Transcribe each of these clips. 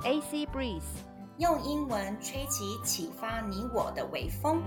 AC Breeze， 用英文吹起啟發你我的微風。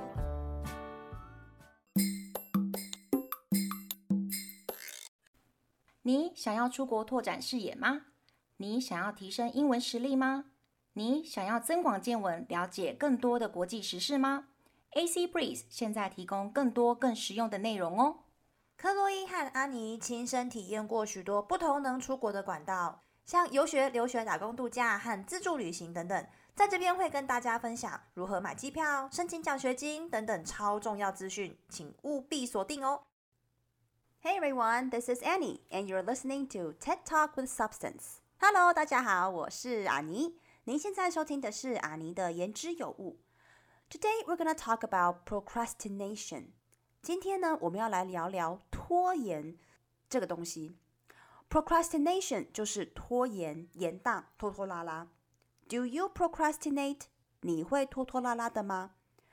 你想要出國拓展視野嗎？你想要提升英文實力嗎？你想要增廣見聞，了解更多的國際時事嗎？ AC Breeze 現在提供更多更實用的內容哦。 克洛伊和安妮親身體驗過許多不同能出國的管道，像遊學、留學、打工度假和自助旅行等等。在這邊會跟大家分享如何買機票、申請獎學金等等超重要資訊，請務必鎖定哦。Hey everyone, this is Annie, and you're listening to TED Talk with Substance. Hello, 大家好，我是阿妮。您現在收聽的是阿妮的言之有物。Today we're gonna talk about procrastination. 今天呢，我們要來聊聊拖延這個東西。Procrastination 就是拖延、延宕、拖拖拉拉。Do you procrastinate? 你會拖拖拉拉的嗎？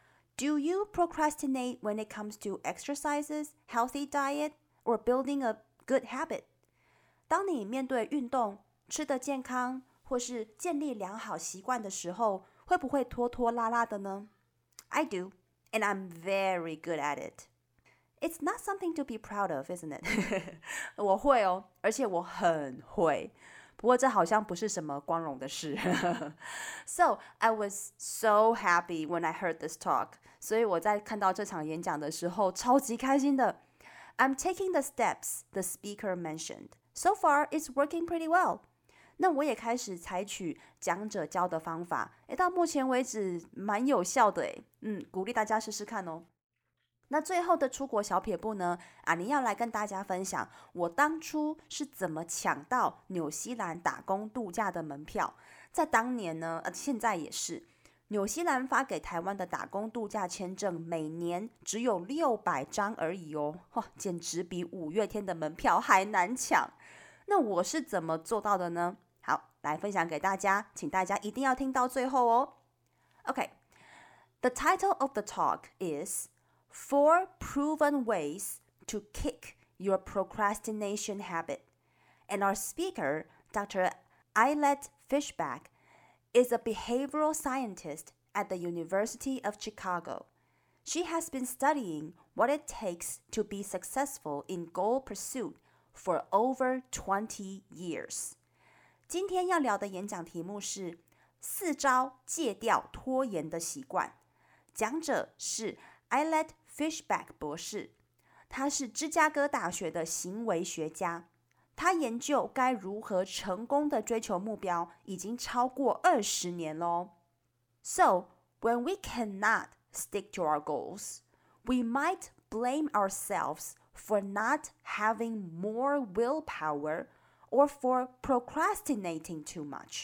Do you procrastinate when it comes to exercises, healthy diet, or building a good habit? 當你面對運動、吃得健康，或是建立良好習慣的時候，會不會拖拖拉拉的呢？ I do, and I'm very good at it.It's not something to be proud of, isn't it? 我會哦，而且我很會。不過這好像不是什麼光榮的事。So, I was so happy when I heard this talk. 所以我在看到這場演講的時候，超級開心的。I'm taking the steps the speaker mentioned. So far, it's working pretty well. 那我也開始採取講者教的方法。到目前為止蠻有效的。鼓勵大家試試看哦。那最後的出國小撇步呢，阿妮要來跟大家分享我當初是怎麼搶到紐西蘭打工度假的門票。在當年呢，現在也是，紐西蘭發給台灣的打工度假簽證每年只有600張而已哦，簡直比五月天的門票還難搶。那我是怎麼做到的呢？好，來分享給大家，請大家一定要聽到最後哦。Okay, the title of the talk is Four proven ways to kick your procrastination habit. And our speaker, Dr. Ayelet Fishbach, is a behavioral scientist at the University of Chicago. She has been studying what it takes to be successful in goal pursuit for over 20 years. 今天要聊的演講題目是4招戒掉拖延的習慣。講者是Ayelet Fishbach 博士，他是芝加哥大學的行為學家，他研究該如何成功的追求目標已經超過20年咯。So, when we cannot stick to our goals, we might blame ourselves for not having more willpower or for procrastinating too much.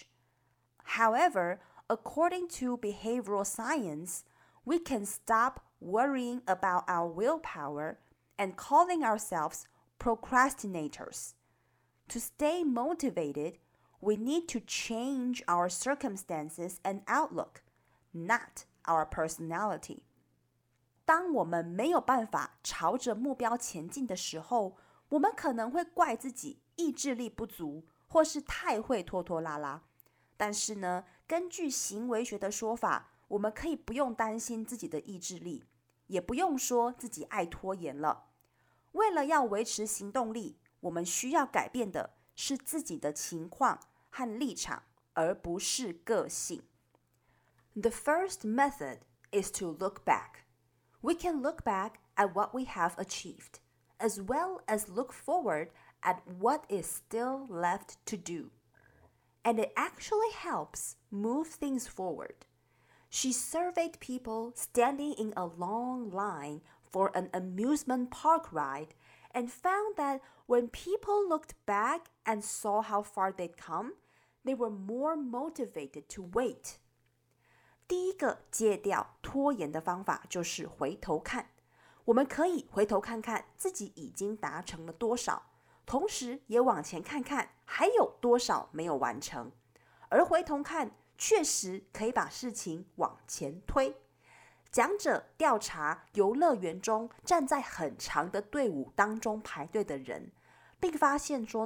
However, according to behavioral science, we can stop worrying about our willpower and calling ourselves procrastinators. To stay motivated, we need to change our circumstances and outlook, not our personality. 當我們沒有辦法朝着目標前進的時候，我們可能會怪自己意志力不足，或是太會拖拖拉拉。但是呢，根據行為學的說法，我們可以不用擔心自己的意志力，也不用說自己愛拖延了。為了要維持行動力，我們需要改變的是自己的情況和立場，而不是個性。The first method is to look back. We can look back at what we have achieved, as well as look forward at what is still left to do. And it actually helps move things forward.She surveyed people standing in a long line for an amusement park ride and found that when people looked back and saw how far they'd come, they were more motivated to wait. 第一個戒掉拖延的方法就是回頭看。我們可以回頭看看自己已經達成了多少，同時也往前看看還有多少沒有完成。而回頭看確實可以把事情往前推。講者調查遊樂園中站在很長的隊伍當中排隊的人，並發現說呢，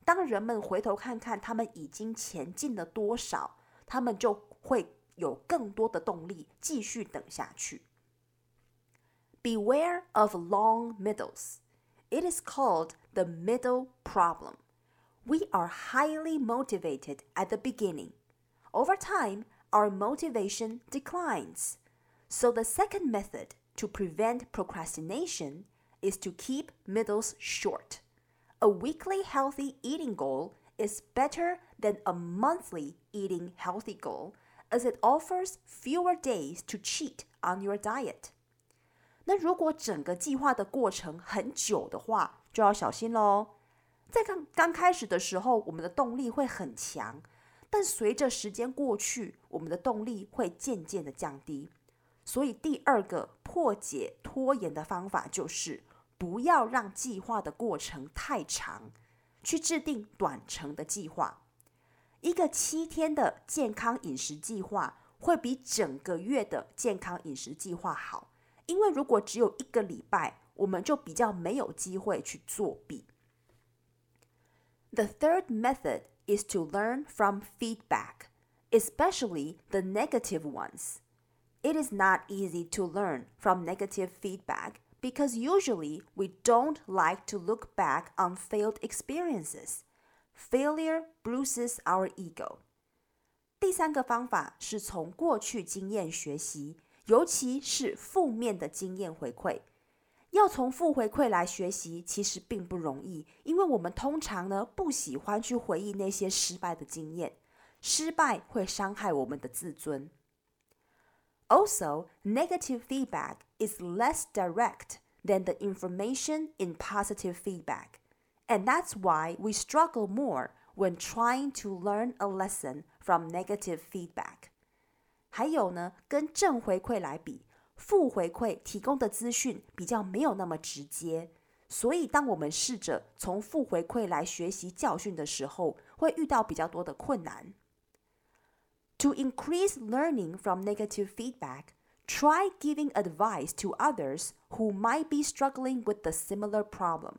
當人們回頭看看他們已經前進了多少，他們就會有更多的動力繼續等下去。Beware of long middles. It is called the middle problem. We are highly motivated at the beginning. Over time, our motivation declines. So the second method to prevent procrastination is to keep middles short. A weekly healthy eating goal is better than a monthly eating healthy goal, as it offers fewer days to cheat on your diet. 那如果整個計劃的過程很久的話，就要小心咯。在剛開始的時候，我們的動力會很強，但隨着時間過去，我們的動力會漸漸的降低。所以第二個破解拖延的方法就是不要讓計劃的過程太長，去制定短程的計劃。一個7天的健康飲食計劃會比整個月的健康飲食計劃好，因為如果只有1個禮拜，我們就比較沒有機會去作弊。The third method is to learn from feedback, especially the negative ones. It is not easy to learn from negative feedback because usually we don't like to look back on failed experiences. Failure bruises our ego. 第三個方法是從過去經驗學習，尤其是負面的經驗回饋。要從負回饋來學習，其實並不容易，因為我們通常呢不喜歡去回憶那些失敗的經驗，失敗會傷害我們的自尊。Also, negative feedback is less direct than the information in positive feedback, and that's why we struggle more when trying to learn a lesson from negative feedback. 還有呢，跟正回饋來比，負回饋提供的資訊比較沒有那麼直接，所以當我們試着從負回饋來學習教訓的時候，會遇到比較多的困難。To increase learning from negative feedback, try giving advice to others who might be struggling with the similar problem.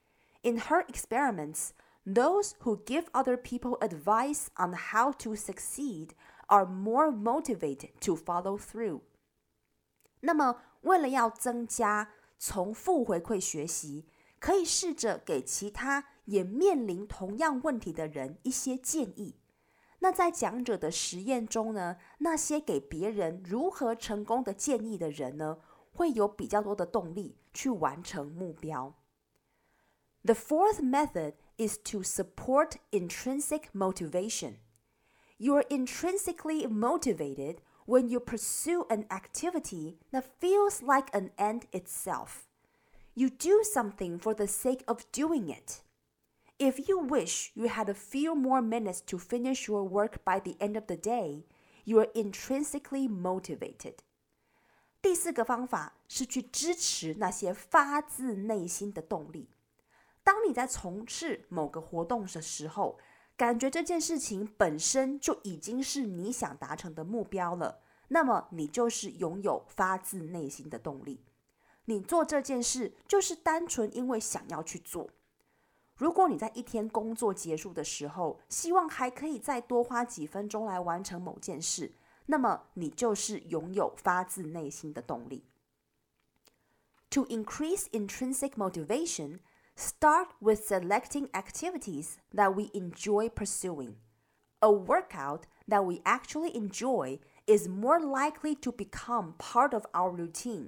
In her experiments, those who give other people advice on how to succeed are more motivated to follow through. 那麼，為了要增加從負回饋學習，可以試着給其他也面臨同樣問題的人一些建議。那在講者的實驗中呢，那些給別人如何成功的建議的人呢，會有比較多的動力去完成目標。The fourth method is to support intrinsic motivation. You are intrinsically motivated when you pursue an activity that feels like an end itself. You do something for the sake of doing it. If you wish you had a few more minutes to finish your work by the end of the day, you are intrinsically motivated. 第四個方法是去支持那些發自內心的動力。當你在從事某個活動的時候，感覺這件事情本身就已經是你想達成的目標了，那麼你就是擁有發自內心的動力。你做這件事就是單純因為想要去做。如果你在一天工作結束的時候，希望還可以再多花幾分鐘來完成某件事，那麼你就是擁有發自內心的動力。To increase intrinsic motivation, start with selecting activities that we enjoy pursuing. A workout that we actually enjoy is more likely to become part of our routine.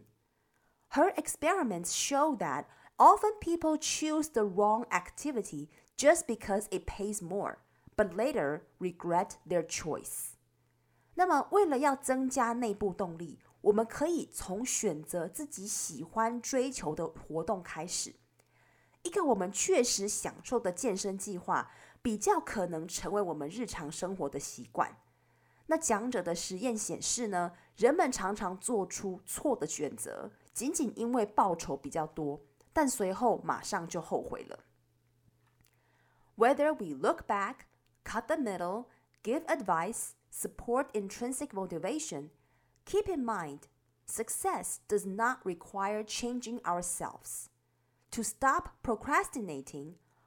Her experiments show that often people choose the wrong activity just because it pays more, but later regret their choice. 那麼，為了要增加內部動力，我們可以從選擇自己喜歡追求的活動開始。一個我們確實享受的健身計劃，比較可能成為我們日常生活的習慣。那講者的實驗顯示呢，人們常常做出錯的選擇，僅僅因為報酬比較多。但隨後馬上就後悔了。Whether we look back, cut the middle, give advice, support intrinsic motivation, keep in mind, success does not require changing ourselves. To stop procrastinating,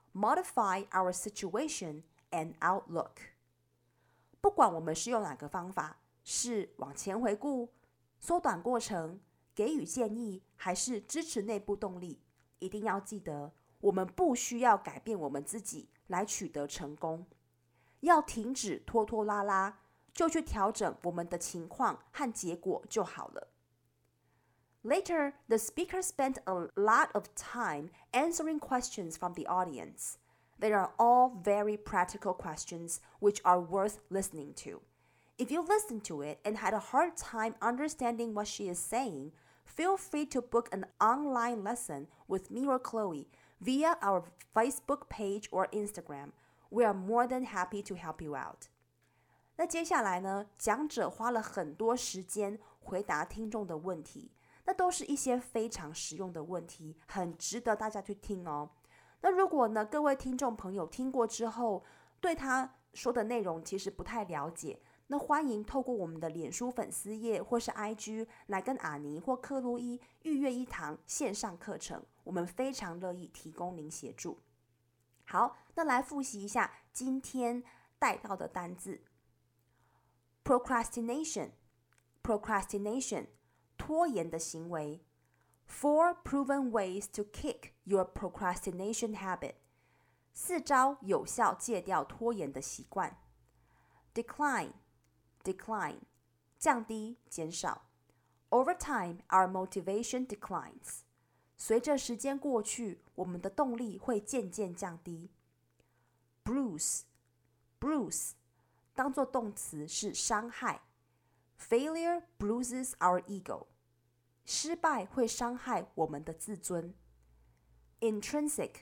modify our situation and outlook。不管我們是用哪個方法，是往前回顧、縮短過程、給予建議，還是支持內部動力，一定要記得，我們不需要改變我們自己來取得成功，要停止拖拖拉拉，就去調整我們的情況和結果就好了。Later, the speaker spent a lot of time answering questions from the audience. They are all very practical questions which are worth listening to. If you listen to it and had a hard time understanding what she is saying, feel free to book an online lesson with me or Chloe via our Facebook page or Instagram. We are more than happy to help you out. 那接下來呢，講者花了很多時間回答聽眾的問題，那都是一些非常實用的問題，很值得大家去聽哦。那如果呢，各位聽眾朋友聽過之後，對他說的內容其實不太了解，那歡迎透過我們的臉書粉絲頁或是 IG 來跟阿妮或克洛伊預約一堂線上課程，我們非常樂意提供您協助。好，那來複習一下今天帶到的單字。Procrastination， 拖延的行為。4 proven ways to kick your procrastination habit， 4招有效戒掉拖延的習慣。Decline， 降低減少。Over time, our motivation declines， 隨着時間過去，我們的動力會漸漸降低。Bruise， 當作動詞是傷害。Failure bruises our ego， 失敗會傷害我們的自尊。Intrinsic，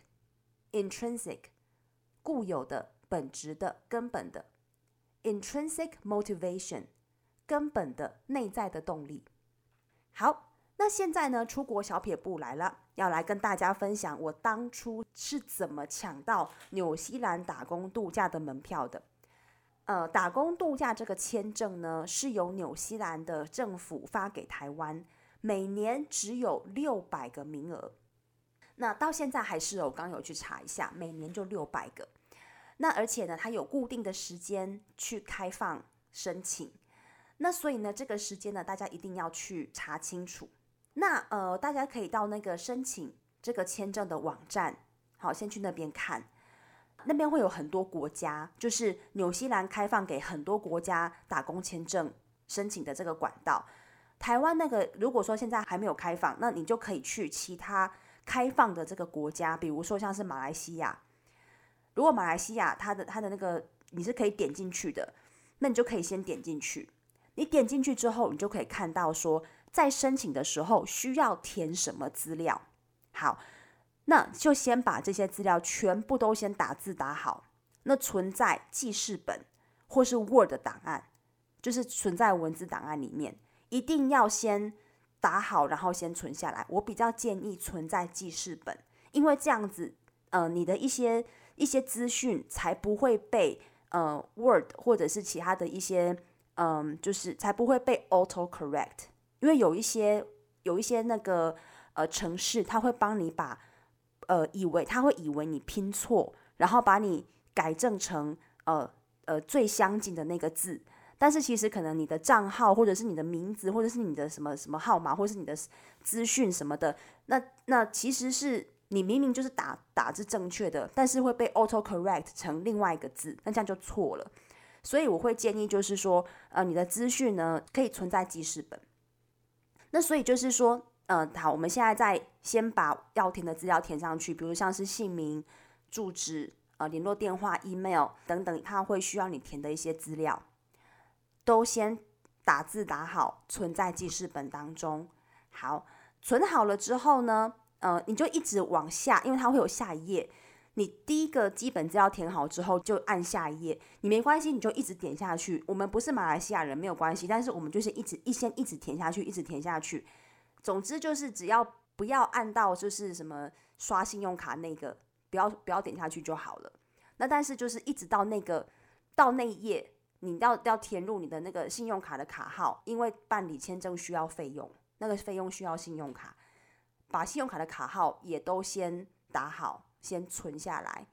固有的、本質的、根本的。Intrinsic motivation， 根本的、內在的動力。好，那現在呢，出國小撇步來了，要來跟大家分享我當初是怎麼搶到紐西蘭打工度假的門票的。打工度假這個簽證呢，是由紐西蘭的政府發給台灣，每年只有600個名額。那到現在還是我剛有去查一下，每年就600個。那而且呢，它有固定的時間去開放申請。那所以呢，這個時間呢，大家一定要去查清楚。那大家可以到那個申請這個簽證的網站，好，先去那邊看。那邊會有很多國家，就是紐西蘭開放給很多國家打工簽證申請的這個管道。台灣那個如果說現在還沒有開放，那你就可以去其他開放的這個國家，比如說像是馬來西亞。如果馬來西亞它的那個你是可以點進去的，那你就可以先點進去。你點進去之後，你就可以看到說，在申請的時候需要填什麼資料。好，那就先把這些資料全部都先打字打好，那存在記事本或是 Word 檔案，就是存在文字檔案裡面，一定要先打好，然後先存下來。我比較建議存在記事本，因為這樣子，你的一些資訊才不會被Word 或者是其他的一些就是才不会被 auto correct， 因為有一些那個程式，它會幫你把它會以為你拼錯，然後把你改正成最相近的那個字，但是其實可能你的賬號或者是你的名字或者是你的什麼什麼號碼或者是你的資訊什麼的，那其實是你明明就是打字正確的，但是會被 auto correct 成另外一個字，那這樣就錯了。所以我會建議就是說，你的資訊呢可以存在記事本。那所以就是說，好，我們現在先把要填的資料填上去，比如像是姓名、住址、聯絡電話、email 等等，它會需要你填的一些資料，都先打字打好，存在記事本當中。好，存好了之後呢，你就一直往下，因為它會有下一頁。你第一個基本資料填好之後，就按下一頁。你沒關係，你就一直點下去。我們不是馬來西亞人，沒有關係。但是我們就是一直填下去，一直填下去。總之就是只要不要按到就是什麼刷信用卡那個，不要點下去就好了。那但是就是一直到那一頁，你要填入你的那個信用卡的卡號，因為辦理簽證需要費用，那個費用需要信用卡，把信用卡的卡號也都先打好。先存下來，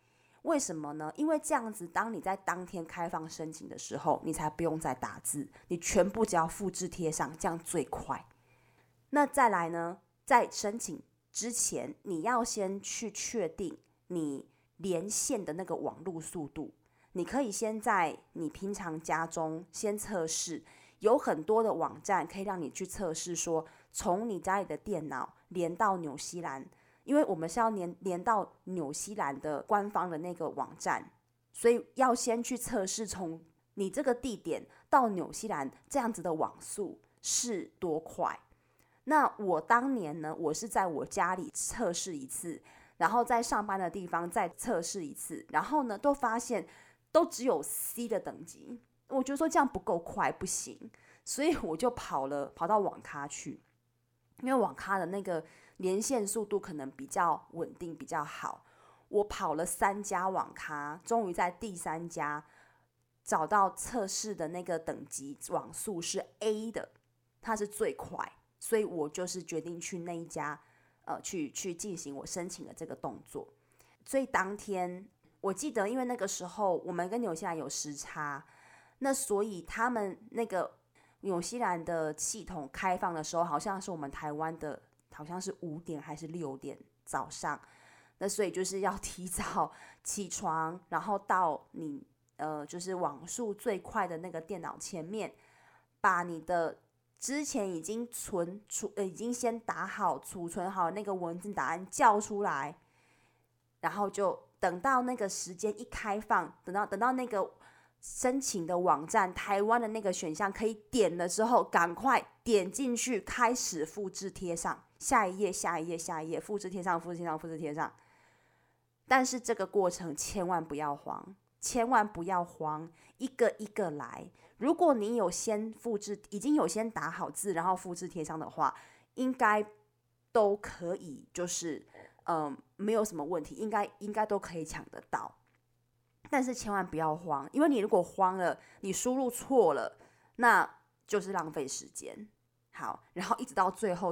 為什麼呢？因為這樣子，當你在當天開放申請的時候，你才不用再打字，你全部只要複製貼上，這樣最快。那再來呢，在申請之前，你要先去確定你連線的那個網絡速度。你可以先在你平常家中先測試，有很多的網站可以讓你去測試，說從你家裡的電腦連到紐西蘭，因為我們是要連到紐西蘭的官方的那個網站，所以要先去測試從你這個地點到紐西蘭這樣子的網速是多快。那我當年呢，我是在我家裡測試一次，然後在上班的地方再測試一次，然後呢都發現都只有 C 的等級，我覺得說這樣不夠快，不行，所以我就跑到網咖去，因為網咖的那個連線速度可能比較穩定，比較好。我跑了3家網咖，終於在第3家找到測試的那個等級網速是 A 的，它是最快。所以我就是決定去那一家，去進行我申請的這個動作。所以當天我記得，因為那個時候我們跟紐西蘭有時差，那所以他們那個紐西蘭的系統開放的時候，好像是我們台灣的，好像是5點還是6點早上。那所以就是要提早起床，然後到你就是網速最快的那個電腦前面，把你的之前已經已經先打好儲存好那個文字答案叫出來，然後就等到那個時間一開放，等到那個申請的網站台灣的那個選項可以點了之後，趕快點進去開始複製貼上，下一頁下一頁下一頁，複製貼上複製貼上複製貼上。但是這個過程千萬不要慌，千萬不要慌，一個一個來。如果你有先複製，已經有先打好字，然後複製貼上的話，應該都可以，就是沒有什麼問題，應該都可以搶得到。但是千萬不要慌，因為你如果慌了，你輸入錯了，那就是浪費時間。好，然後一直到最後，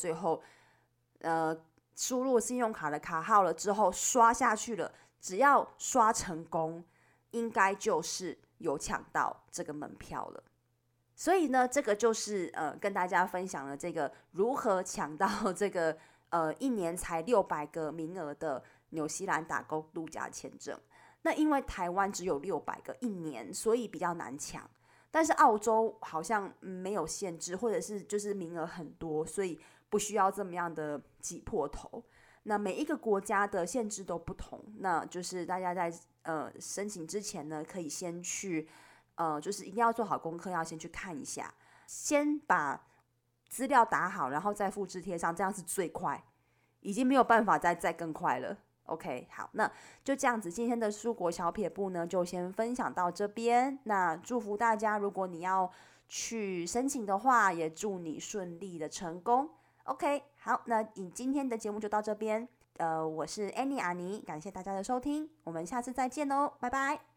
輸入信用卡的卡號了之後，刷下去了，只要刷成功，應該就是有搶到這個門票了。所以呢，這個就是跟大家分享了這個如何搶到這個1年才600個名額的紐西蘭打工度假簽證。那因為台灣只有600個1年，所以比較難搶。但是澳洲好像沒有限制，或者是就是名額很多，所以不需要這麼樣的擠破頭。那每一個國家的限制都不同，那就是大家在申請之前呢，可以先去就是一定要做好功課，要先去看一下，先把資料打好，然後再複製貼上，這樣是最快，已經沒有辦法再更快了。OK， 好，那就這樣子，今天的出國小撇步呢，就先分享到這邊。那祝福大家，如果你要去申請的話，也祝你順利的成功。OK， 好，那今天的節目就到這邊。我是 Annie 阿妮，感謝大家的收聽，我們下次再見哦，拜拜。